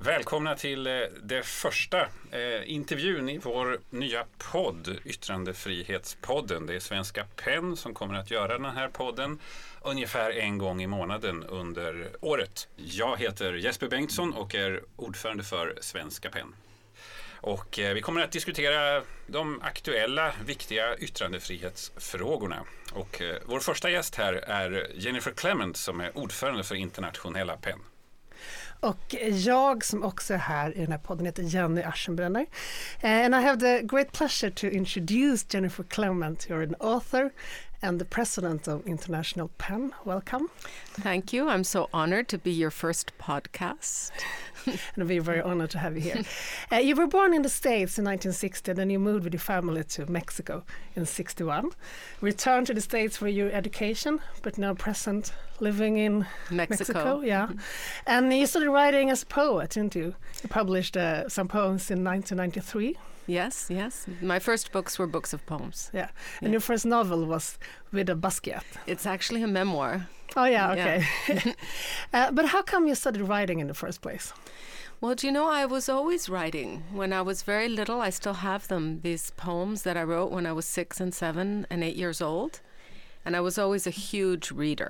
Välkomna till det första intervjun i vår nya podd, Yttrandefrihetspodden. Det är Svenska PEN som kommer att göra den här podden ungefär en gång i månaden under året. Jag heter Jesper Bengtsson och är ordförande för Svenska PEN. Och vi kommer att diskutera de aktuella, viktiga yttrandefrihetsfrågorna. Och vår första gäst här är Jennifer Clement som är ordförande för Internationella PEN. Och jag som också är här i den här podden heter Jenny Aschenbrenner. And I have the great pleasure to introduce Jennifer Clement. You're an author and the president of International PEN. Welcome. Thank you. I'm so honored to be your first podcast. And we're very honored to have you here. You were born in the States in 1960, then you moved with your family to Mexico in 61. Returned to the States for your education, but now present living in Mexico. Yeah. And you started writing as a poet, didn't you? You published some poems in 1993. Yes. My first books were books of poems. Yeah. And your first novel was With a Basquiat. It's actually a memoir. Oh, yeah, okay. Yeah. But how come you started writing in the first place? Well, do you know, I was always writing. When I was very little, I still have them, these poems that I wrote when I was 6 and 7 and 8 years old. And I was always a huge reader.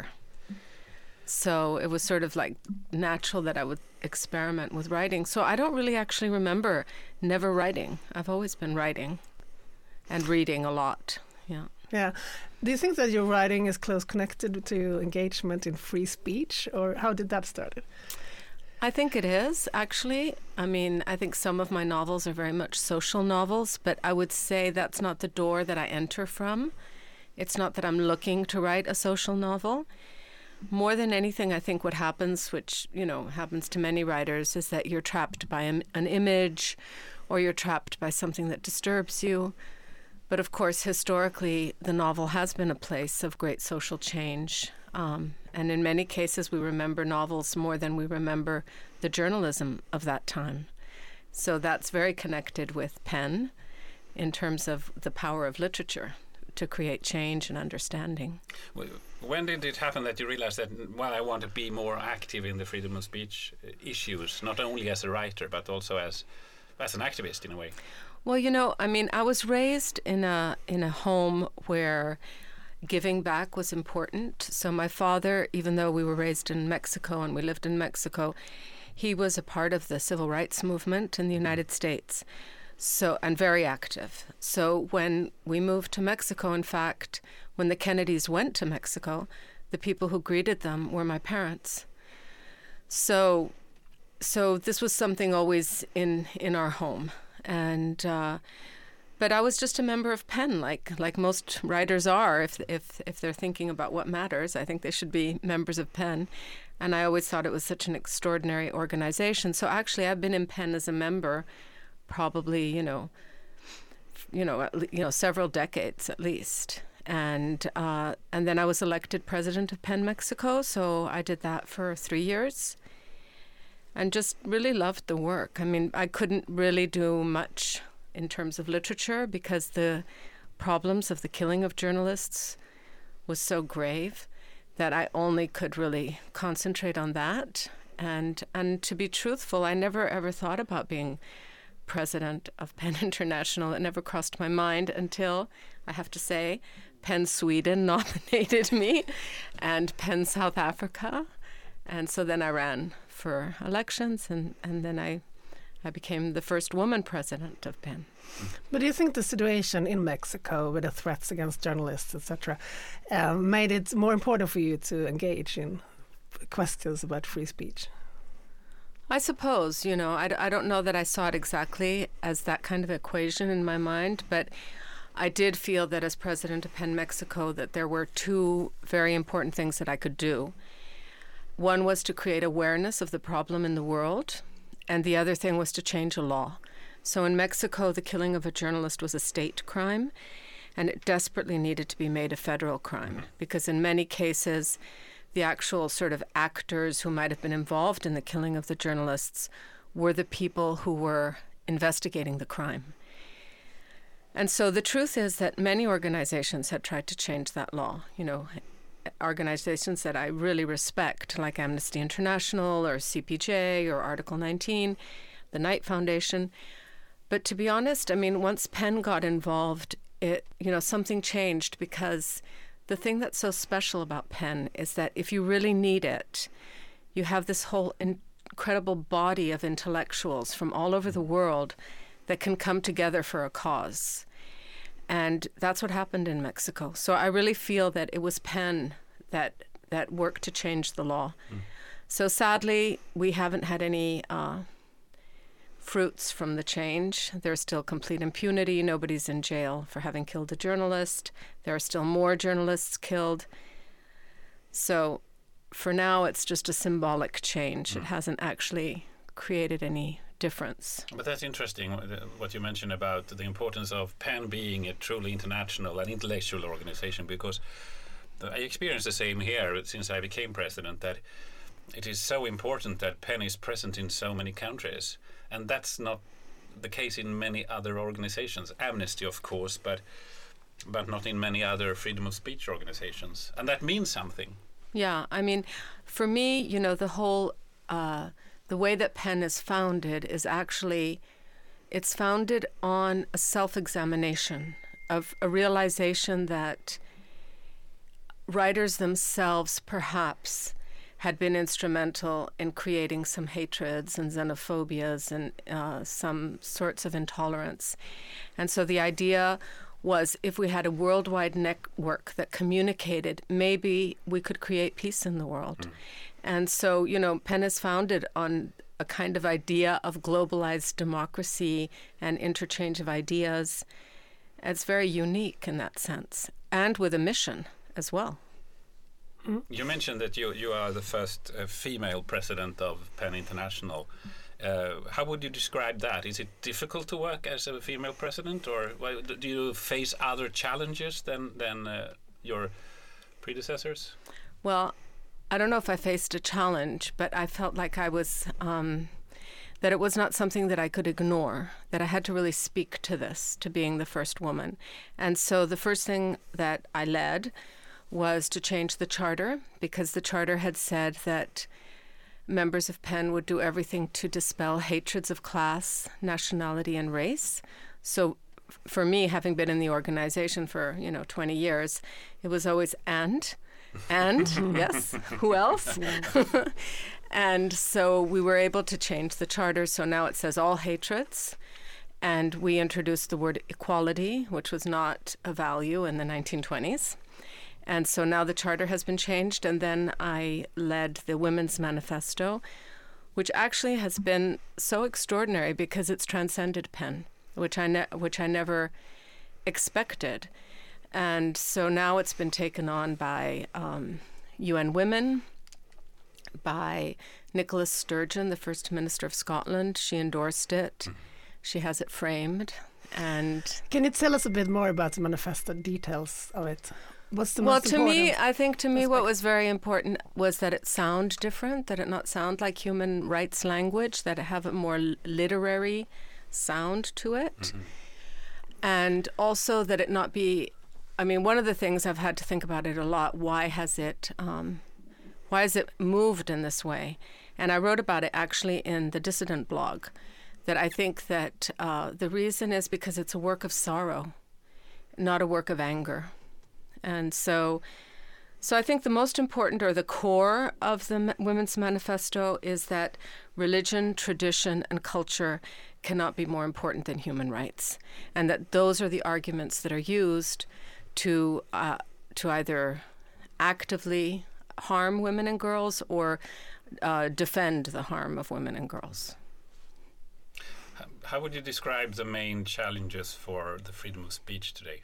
So it was sort of like natural that I would experiment with writing. So I don't really actually remember never writing. I've always been writing and reading a lot. Yeah. Do you think that your writing is close connected to engagement in free speech, or how did that start? I think it is, actually. I mean, I think some of my novels are very much social novels, but I would say that's not the door that I enter from. It's not that I'm looking to write a social novel. More than anything, I think what happens, which, you know, happens to many writers, is that you're trapped by an image or you're trapped by something that disturbs you. But of course, historically, the novel has been a place of great social change. And in many cases, we remember novels more than we remember the journalism of that time. So that's very connected with PEN in terms of the power of literature to create change and understanding. When did it happen that you realized that, well, I want to be more active in the freedom of speech issues, not only as a writer, but also as an activist in a way? Well, you know, I mean, I was raised in a home where giving back was important. So my father, even though we were raised in Mexico and we lived in Mexico, he was a part of the civil rights movement in the United States. So, and very active. So when we moved to Mexico, in fact, when the Kennedys went to Mexico, the people who greeted them were my parents. So this was something always in our home. And but I was just a member of PEN, like most writers are. If they're thinking about what matters, I think they should be members of PEN. And I always thought it was such an extraordinary organization. So actually, I've been in PEN as a member, probably several decades at least. And then I was elected president of PEN Mexico. So I did that for 3 years. And just really loved the work. I mean, I couldn't really do much in terms of literature because the problems of the killing of journalists was so grave that I only could really concentrate on that. And to be truthful, I never ever thought about being president of PEN International. It never crossed my mind until, I have to say, PEN Sweden nominated me and PEN South Africa. And so then I ran for elections, and then I became the first woman president of PEN. But do you think the situation in Mexico with the threats against journalists, etc., made it more important for you to engage in questions about free speech? I suppose, you know, I don't know that I saw it exactly as that kind of equation in my mind, but I did feel that as president of PEN Mexico that there were two very important things that I could do. One was to create awareness of the problem in the world, and the other thing was to change a law. So in Mexico, the killing of a journalist was a state crime, and it desperately needed to be made a federal crime, because in many cases, the actual sort of actors who might have been involved in the killing of the journalists were the people who were investigating the crime. And so the truth is that many organizations had tried to change that law, you know, organizations that I really respect, like Amnesty International or CPJ or Article 19, the Knight Foundation. But to be honest, I mean, once PEN got involved, something changed, because the thing that's so special about PEN is that if you really need it, you have this whole incredible body of intellectuals from all over the world that can come together for a cause. And that's what happened in Mexico. So I really feel that it was PEN that worked to change the law. So sadly, we haven't had any fruits from the change. There's still complete impunity. Nobody's in jail for having killed a journalist. There are still more journalists killed. So for now, it's just a symbolic change. It hasn't actually created any difference. But that's interesting, what you mentioned about the importance of PEN being a truly international and intellectual organization, because I experienced the same here since I became president, that it is so important that PEN is present in so many countries. And that's not the case in many other organizations. Amnesty, of course, but not in many other freedom of speech organizations. And that means something. Yeah, I mean, for me, the whole, the way that PEN is founded is actually, it's founded on a self-examination of a realization that writers themselves perhaps had been instrumental in creating some hatreds and xenophobias and some sorts of intolerance. And so the idea was, if we had a worldwide network that communicated, maybe we could create peace in the world. And so, PEN is founded on a kind of idea of globalized democracy and interchange of ideas. It's very unique in that sense, and with a mission as well. You mentioned that you are the first female president of PEN International. How would you describe that? Is it difficult to work as a female president, or do you face other challenges than your predecessors? Well, I don't know if I faced a challenge, but I felt like I was, that it was not something that I could ignore, that I had to really speak to this, to being the first woman. And so the first thing that I led was to change the charter, because the charter had said that members of PEN would do everything to dispel hatreds of class, nationality, and race. So for me, having been in the organization for, 20 years, it was always and, yes, who else? And so we were able to change the charter. So now it says all hatreds. And we introduced the word equality, which was not a value in the 1920s. And so now the charter has been changed, and then I led the Women's Manifesto, which actually has been so extraordinary because it's transcended PEN, which I never expected. And so now it's been taken on by UN Women, by Nicola Sturgeon, the First Minister of Scotland. She endorsed it. She has it framed. And can you tell us a bit more about the manifesto, details of it? What's the most important? I think what was very important was that it sound different, that it not sound like human rights language, that it have a more literary sound to it. And also that it not be, one of the things I've had to think about it a lot, why has it moved in this way? And I wrote about it actually in the Dissident blog, that I think that the reason is because it's a work of sorrow, not a work of anger. And so I think the most important, or the core of the Women's Manifesto, is that religion, tradition, and culture cannot be more important than human rights, and that those are the arguments that are used to either actively harm women and girls or defend the harm of women and girls. How would you describe the main challenges for the freedom of speech today?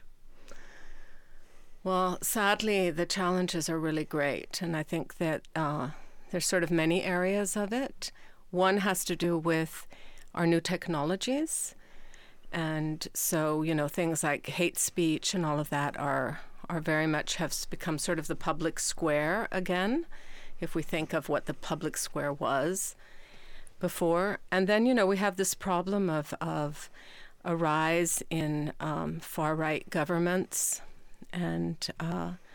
Well, sadly, the challenges are really great, and I think that there's sort of many areas of it. One has to do with our new technologies, and so, things like hate speech and all of that are very much have become sort of the public square again, if we think of what the public square was before. And then, we have this problem of a rise in far-right governments, and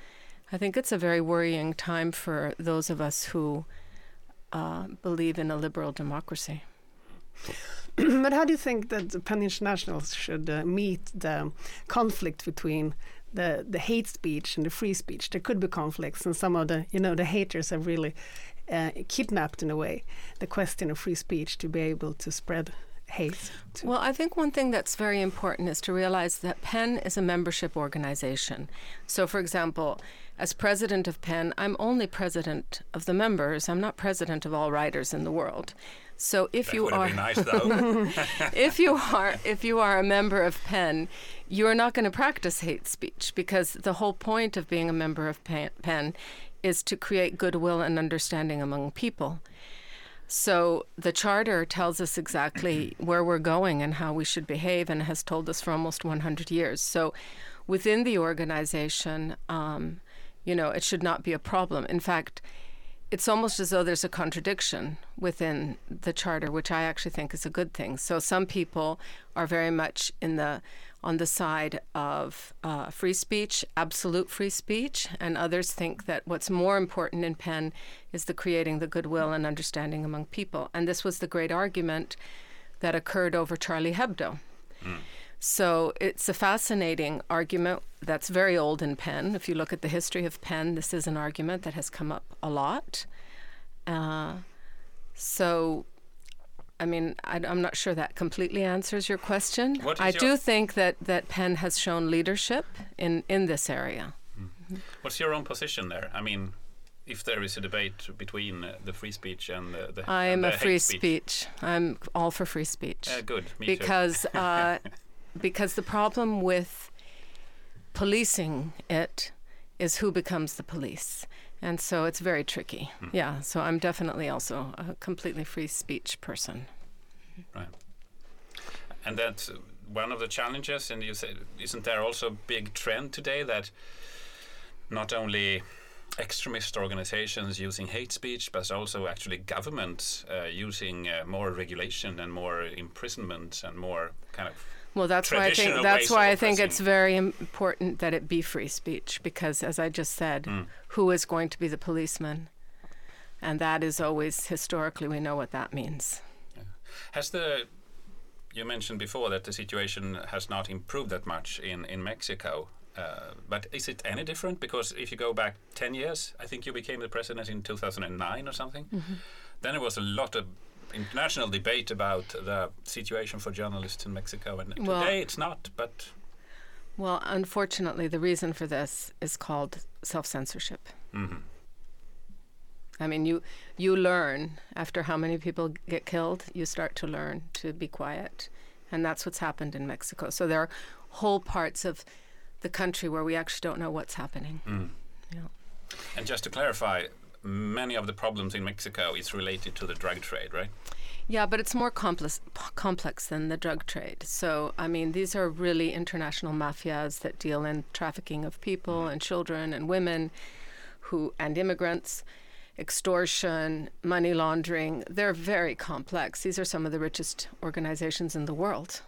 I think it's a very worrying time for those of us who believe in a liberal democracy. But how do you think that the PEN International should meet the conflict between the hate speech and the free speech? There could be conflicts, and some of the haters have really kidnapped, in a way, the question of free speech to be able to spread hate. Well, I think one thing that's very important is to realize that PEN is a membership organization. So, for example, as president of PEN, I'm only president of the members. I'm not president of all writers in the world. So if you are, nice, though. if you are a member of PEN, you are not going to practice hate speech, because the whole point of being a member of PEN is to create goodwill and understanding among people. So the charter tells us exactly where we're going and how we should behave, and has told us for almost 100 years. So within the organization, it should not be a problem. In fact, it's almost as though there's a contradiction within the charter, which I actually think is a good thing. So some people are very much on the side of free speech, absolute free speech, and others think that what's more important in PEN is creating the goodwill and understanding among people. And this was the great argument that occurred over Charlie Hebdo. So it's a fascinating argument that's very old in PEN. If you look at the history of PEN, this is an argument that has come up a lot. I'm not sure that completely answers your question. I do think that PEN has shown leadership in this area. What's your own position there? I mean, if there is a debate between the free speech and the I am a free speech. speech. I'm all for free speech. Good, me because too. Because the problem with policing it is who becomes the police. And so it's very tricky. Yeah, so I'm definitely also a completely free speech person. Right. And that's one of the challenges, and you said, isn't there also a big trend today that not only extremist organizations using hate speech, but also actually governments using more regulation and more imprisonment and more kind of Well, that's why I think it's very important that it be free speech, because, as I just said, who is going to be the policeman? And that is always, historically, we know what that means. Yeah. You mentioned before that the situation has not improved that much in Mexico, but is it any different? Because if you go back 10 years, I think you became the president in 2009 or something, then there was a lot of international debate about the situation for journalists in Mexico, and today it's not, but... Well, unfortunately, the reason for this is called self-censorship. I mean, you learn, after how many people get killed, you start to learn to be quiet, and that's what's happened in Mexico. So there are whole parts of the country where we actually don't know what's happening. Yeah. And just to clarify, many of the problems in Mexico is related to the drug trade, right? Yeah, but it's more complex than the drug trade. So, I mean, these are really international mafias that deal in trafficking of people and children and women and immigrants, extortion, money laundering. They're very complex. These are some of the richest organizations in the world.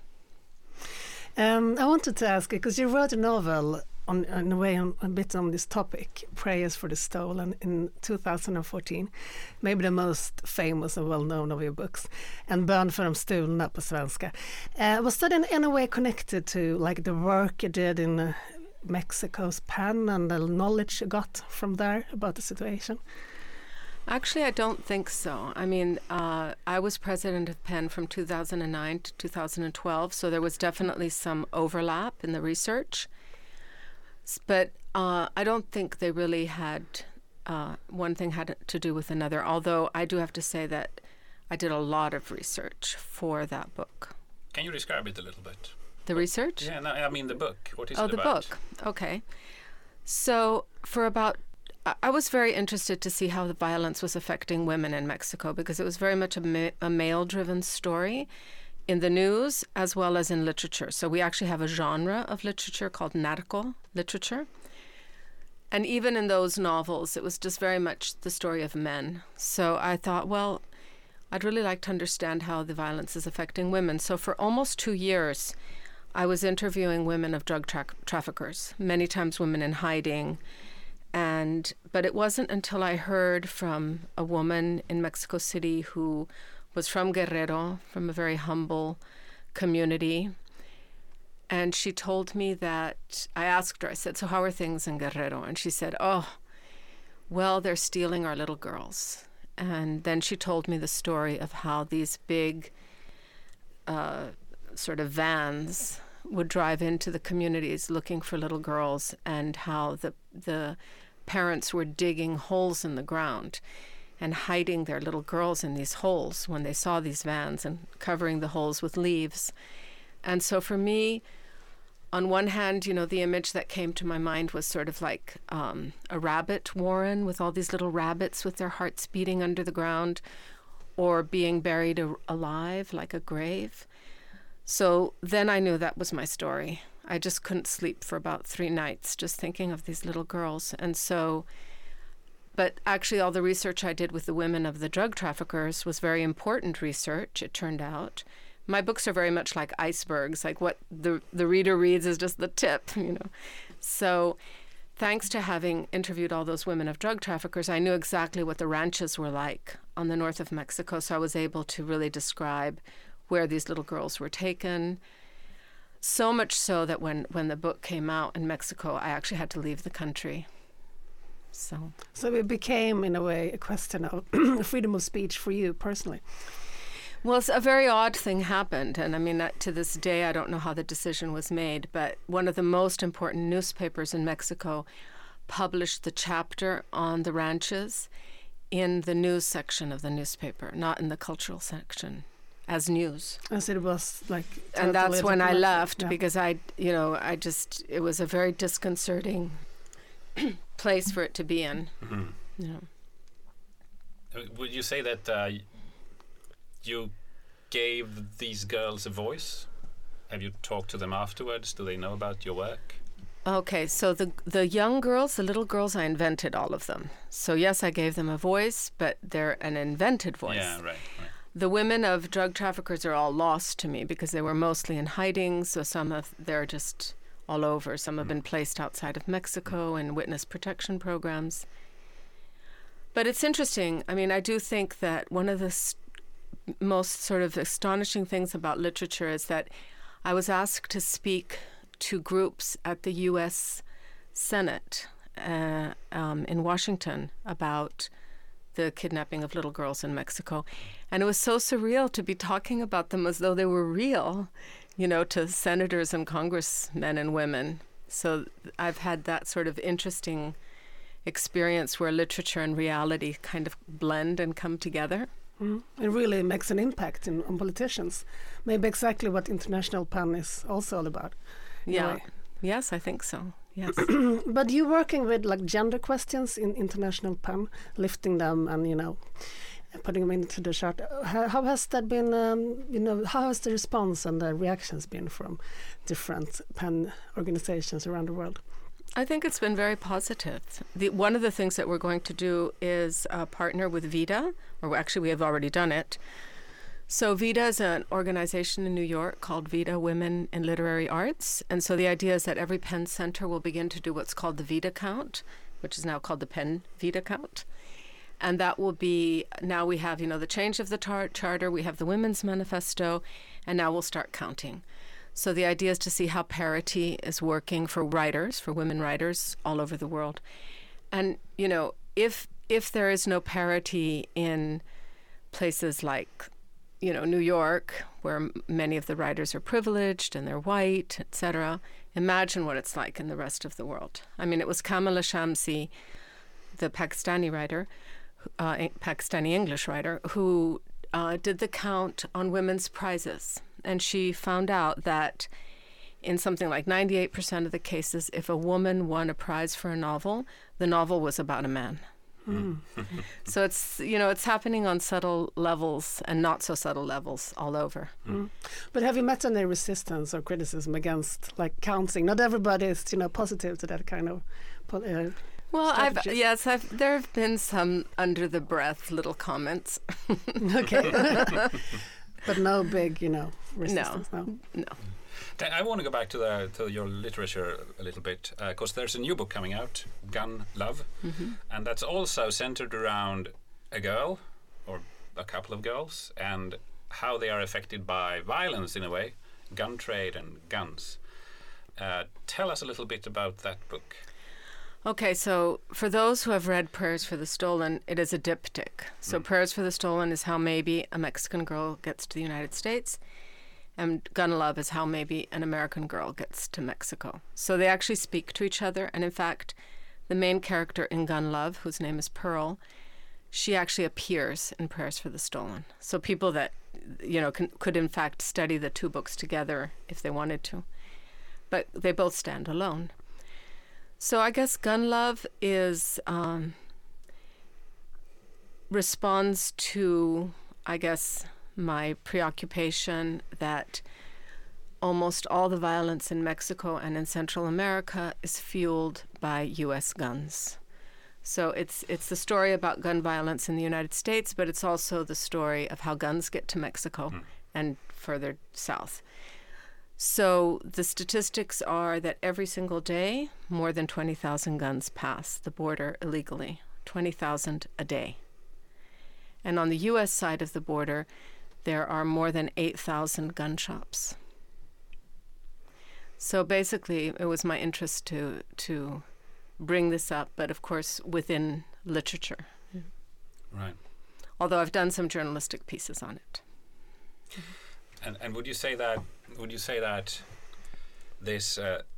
I wanted to ask, because you wrote a novel in a way a bit on this topic, Prayers for the Stolen, in 2014, maybe the most famous and well-known of your books, and Bön för de stulna på svenska. Was that in any way connected to like the work you did in Mexico's PEN and the knowledge you got from there about the situation? Actually, I don't think so. I mean, I was president of PEN from 2009 to 2012, so there was definitely some overlap in the research. But I don't think they really had, one thing had to do with another, although I do have to say that I did a lot of research for that book. Can you describe it a little bit? The research? Yeah, no, I mean the book. What is it about? Oh, the book. Okay. So I was very interested to see how the violence was affecting women in Mexico, because it was very much a male-driven story in the news as well as in literature. So we actually have a genre of literature called narco literature. And even in those novels, it was just very much the story of men. So I thought, well, I'd really like to understand how the violence is affecting women. So for almost 2 years, I was interviewing women of drug traffickers, many times women in hiding, But it wasn't until I heard from a woman in Mexico City who was from Guerrero, from a very humble community. And she told me that, I asked her, I said, so how are things in Guerrero? And she said, oh, well, they're stealing our little girls. And then she told me the story of how these big sort of vans would drive into the communities looking for little girls, and how the parents were digging holes in the ground and hiding their little girls in these holes when they saw these vans, and covering the holes with leaves. And so for me, on one hand, you know, the image that came to my mind was sort of like a rabbit warren with all these little rabbits with their hearts beating under the ground, or being buried alive like a grave. So then I knew that was my story. I just couldn't sleep for about 3 nights just thinking of these little girls. And so, but actually all the research I did with the women of the drug traffickers was very important research, it turned out. My books are very much like icebergs, like what the reader reads is just the tip, you know. So thanks to having interviewed all those women of drug traffickers, I knew exactly what the ranches were like on the north of Mexico. So I was able to really describe where these little girls were taken. So much so that when the book came out in Mexico, I actually had to leave the country. So it became, in a way, a question of freedom of speech for you personally. Well, a very odd thing happened. And I mean, to this day, I don't know how the decision was made, but one of the most important newspapers in Mexico published the chapter on the ranches in the news section of the newspaper, not in the cultural section, as news. As it was like... And that's when I left, because it was a very disconcerting place for it to be in. Mm-hmm. You know. Would you say that you gave these girls a voice? Have you talked to them afterwards? Do they know about your work? Okay, so the young girls, the little girls, I invented all of them. So yes, I gave them a voice, but they're an invented voice. Yeah, right. The women of drug traffickers are all lost to me because they were mostly in hiding, so they're just all over. Some have been placed outside of Mexico in witness protection programs. But it's interesting. I mean, I do think that one of the most sort of astonishing things about literature is that I was asked to speak to groups at the U.S. Senate in Washington about the kidnapping of little girls in Mexico. And it was so surreal to be talking about them as though they were real, you know, to senators and congressmen and women. So I've had that sort of interesting experience where literature and reality kind of blend and come together. It really makes an impact on politicians. Maybe exactly what International PEN is also all about. Yeah. Yes, I think so. Yes. But you working with like gender questions in International PEN, lifting them and, you know, putting them into the chart. How has that been, how has the response and the reactions been from different PEN organizations around the world? I think it's been very positive. One of the things that we're going to do is partner with VIDA, or actually we have already done it. So VIDA is an organization in New York called VIDA Women in Literary Arts. And so the idea is that every PEN center will begin to do what's called the VIDA count, which is now called the PEN VIDA count. And that will be, now we have, the change of the charter, we have the Women's Manifesto, and now we'll start counting. So the idea is to see how parity is working for writers, for women writers all over the world. And, if there is no parity in places like, New York, where many of the writers are privileged and they're white, etc., imagine what it's like in the rest of the world. I mean, it was Kamala Shamsi, the Pakistani writer, Pakistani English writer, who did the count on women's prizes. And she found out that in something like 98% of the cases, if a woman won a prize for a novel, the novel was about a man. So it's happening on subtle levels and not so subtle levels all over. But have you met any resistance or criticism against like counting? Not everybody is positive to that kind of well, there have been some under the breath little comments. Okay. But no big resistance. No. I want to go back to your literature a little bit, because there's a new book coming out, Gun Love, and that's also centered around a girl or a couple of girls and how they are affected by violence in a way, gun trade and guns. Tell us a little bit about that book. Okay, so for those who have read Prayers for the Stolen, it is a diptych. So Prayers for the Stolen is how maybe a Mexican girl gets to the United States, and Gun Love is how maybe an American girl gets to Mexico. So they actually speak to each other, and in fact, the main character in Gun Love, whose name is Pearl, she actually appears in Prayers for the Stolen. So people that, could in fact study the two books together if they wanted to. But they both stand alone. So I guess Gun Love is responds to, I guess, my preoccupation that almost all the violence in Mexico and in Central America is fueled by U.S. guns. So it's the story about gun violence in the United States, but it's also the story of how guns get to Mexico and further south. So the statistics are that every single day, more than 20,000 guns pass the border illegally, 20,000 a day. And on the U.S. side of the border, there are more than 8,000 gun shops. So basically, it was my interest to bring this up, but of course within literature. Right. Although I've done some journalistic pieces on it. And would you say that this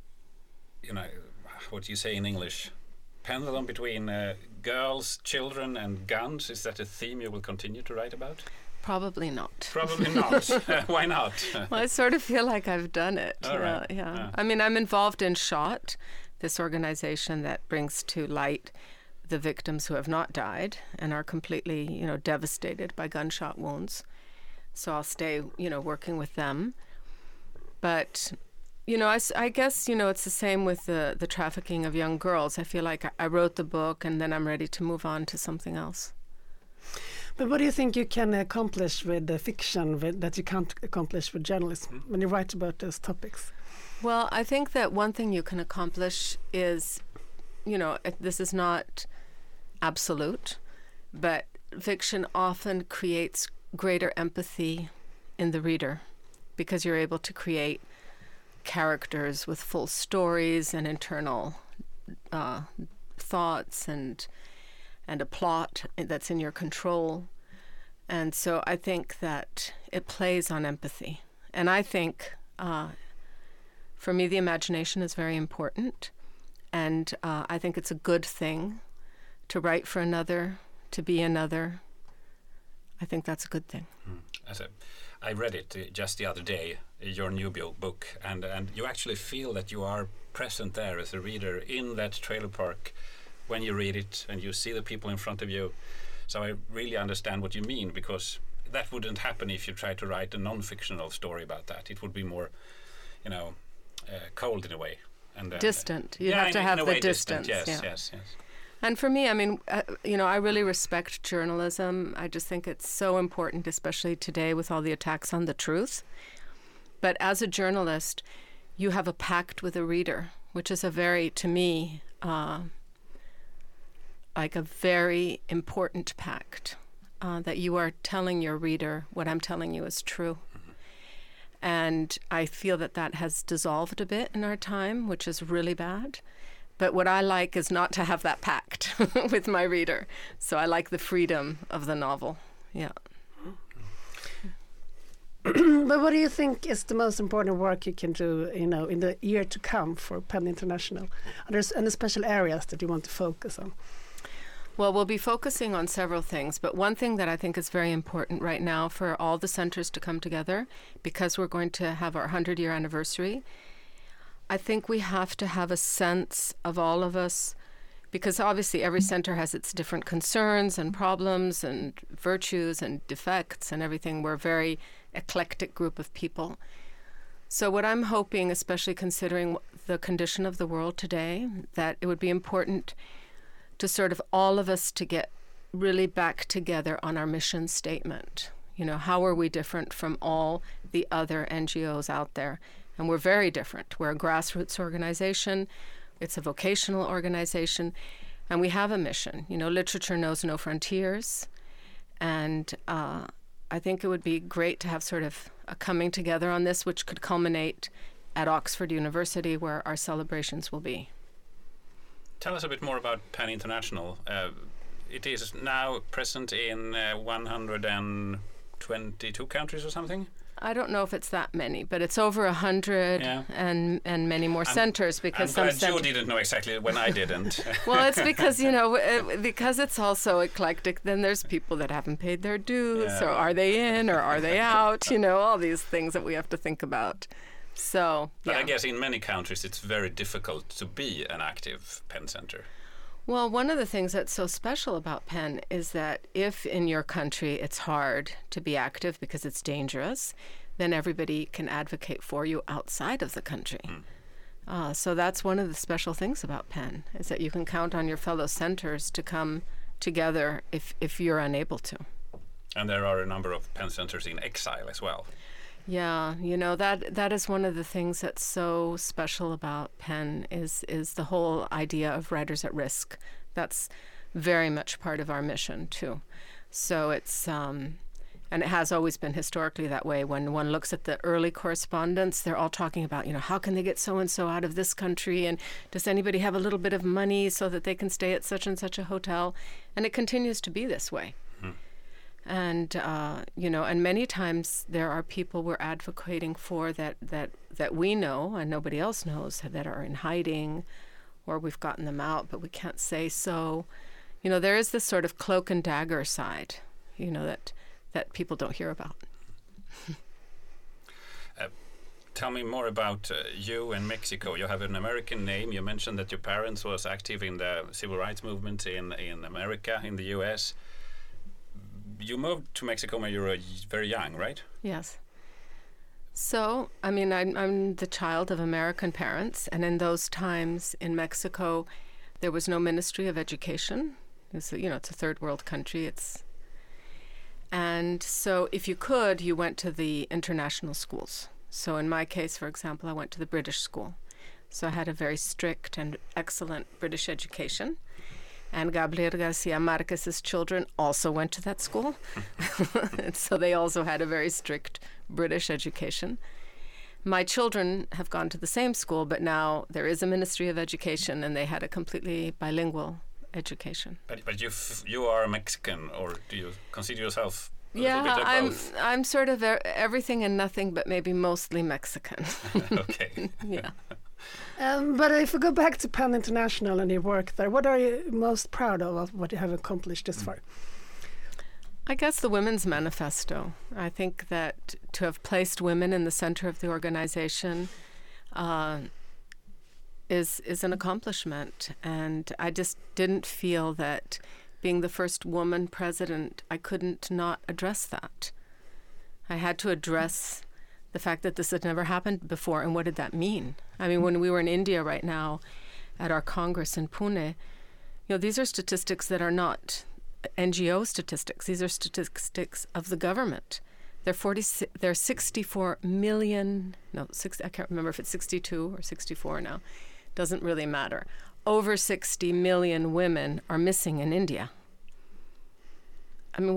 what do you say in English, pendulum between girls, children and guns, is that a theme you will continue to write about? Probably not. Probably not. Why not? Well, I sort of feel like I've done it. Right. Yeah. I mean, I'm involved in SHOT, this organization that brings to light the victims who have not died and are completely, devastated by gunshot wounds. So I'll stay, working with them. But, I guess, it's the same with the trafficking of young girls. I feel like I wrote the book and then I'm ready to move on to something else. But what do you think you can accomplish with the fiction that you can't accomplish with journalism when you write about those topics? Well, I think that one thing you can accomplish is, this is not absolute, but fiction often creates greater empathy in the reader because you're able to create characters with full stories and internal thoughts and a plot that's in your control. And so I think that it plays on empathy. And I think, for me, the imagination is very important. And I think it's a good thing to write for another, to be another. I think that's a good thing. I read it just the other day, your new book, and you actually feel that you are present there as a reader in that trailer park when you read it and you see the people in front of you. So I really understand what you mean, because that wouldn't happen if you tried to write a non-fictional story about that. It would be more, cold in a way. And distant. You have to have the distance. Yes. And for me, I mean, I really respect journalism. I just think it's so important, especially today with all the attacks on the truth. But as a journalist, you have a pact with a reader, which is to me, like a very important pact, that you are telling your reader what I'm telling you is true. And I feel that has dissolved a bit in our time, which is really bad. But what I like is not to have that pact with my reader. So I like the freedom of the novel. Yeah. But what do you think is the most important work you can do, in the year to come for PEN International? Are there any special areas that you want to focus on? Well, we'll be focusing on several things, but one thing that I think is very important right now for all the centers to come together, because we're going to have our 100-year anniversary, I think we have to have a sense of all of us, because obviously every center has its different concerns and problems and virtues and defects and everything. We're a very eclectic group of people. So what I'm hoping, especially considering the condition of the world today, that it would be important to sort of all of us to get really back together on our mission statement. How are we different from all the other NGOs out there? And we're very different. We're a grassroots organization. It's a vocational organization. And we have a mission. You know, literature knows no frontiers. And I think it would be great to have sort of a coming together on this, which could culminate at Oxford University, where our celebrations will be. Tell us a bit more about PEN International. It is now present in 122 countries or something? I don't know if it's that many, but it's over 100 and many more centers, because I'm glad you didn't know exactly when I didn't. Well, it's because, you know, because it's also eclectic, then there's people that haven't paid their dues, or are they in or are they out, you know, all these things that we have to think about. So, But I guess in many countries it's very difficult to be an active PEN center. Well, one of the things that's so special about PEN is that if in your country it's hard to be active because it's dangerous, then everybody can advocate for you outside of the country. So that's one of the special things about PEN, is that you can count on your fellow centers to come together if you're unable to. And there are a number of PEN centers in exile as well. Yeah, you know, that is one of the things that's so special about PEN is the whole idea of writers at risk. That's very much part of our mission too. So it's and it has always been historically that way. When one looks at the early correspondence, they're all talking about, you know, how can they get so and so out of this country, and does anybody have a little bit of money so that they can stay at such and such a hotel? And it continues to be this way. And, you know, and many times there are people we're advocating for that we know and nobody else knows, that are in hiding, or we've gotten them out, but we can't say so. You know, there is this sort of cloak and dagger side, you know, that people don't hear about. Tell me more about you and Mexico. You have an American name. You mentioned that your parents was active in the civil rights movement in America, in the U.S., You moved to Mexico when you were very young, right? Yes. So, I mean, I'm the child of American parents, and in those times in Mexico, there was no Ministry of Education. It's a third world country. And so if you could, you went to the international schools. So in my case, for example, I went to the British school. So I had a very strict and excellent British education. And Gabriel Garcia Marquez's children also went to that school. So they also had a very strict British education. My children have gone to the same school, but now there is a Ministry of Education, and they had a completely bilingual education. But you are Mexican, or do you consider yourself a little bit of both? I'm sort of everything and nothing, but maybe mostly Mexican. Okay. Yeah. But if we go back to PEN International and your work there, what are you most proud of what you have accomplished this far? I guess the Women's Manifesto. I think that to have placed women in the center of the organization is an accomplishment. And I just didn't feel that being the first woman president, I couldn't not address that. I had to address the fact that this had never happened before, and what did that mean? I mean, when we were in India right now at our Congress in Pune, these are statistics that are not NGO statistics. These are statistics of the government. There are 64 million, I can't remember if it's 62 or 64 now. Doesn't really matter. Over 60 million women are missing in India. I mean,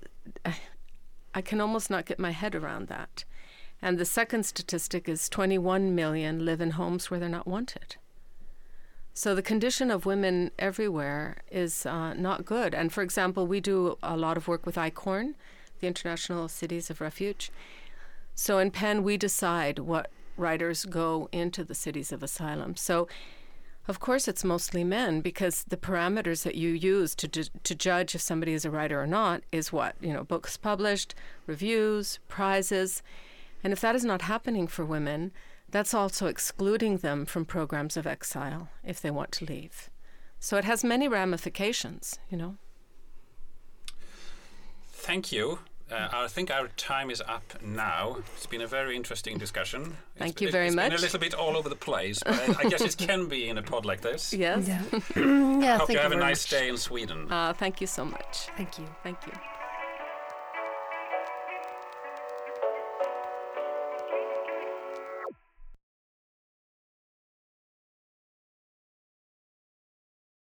I can almost not get my head around that. And the second statistic is 21 million live in homes where they're not wanted. So the condition of women everywhere is not good. And for example, we do a lot of work with ICORN, the International Cities of Refuge. So in PEN, we decide what writers go into the cities of asylum. So of course it's mostly men, because the parameters that you use to judge if somebody is a writer or not is what? Books published, reviews, prizes. And if that is not happening for women, that's also excluding them from programs of exile if they want to leave. So it has many ramifications, Thank you. I think our time is up now. It's been a very interesting discussion. Thank you very much. It's been a little bit all over the place, but I guess it can be in a pod like this. Yes. Yeah. I hope you have a nice day in Sweden. Thank you so much. Thank you. Thank you.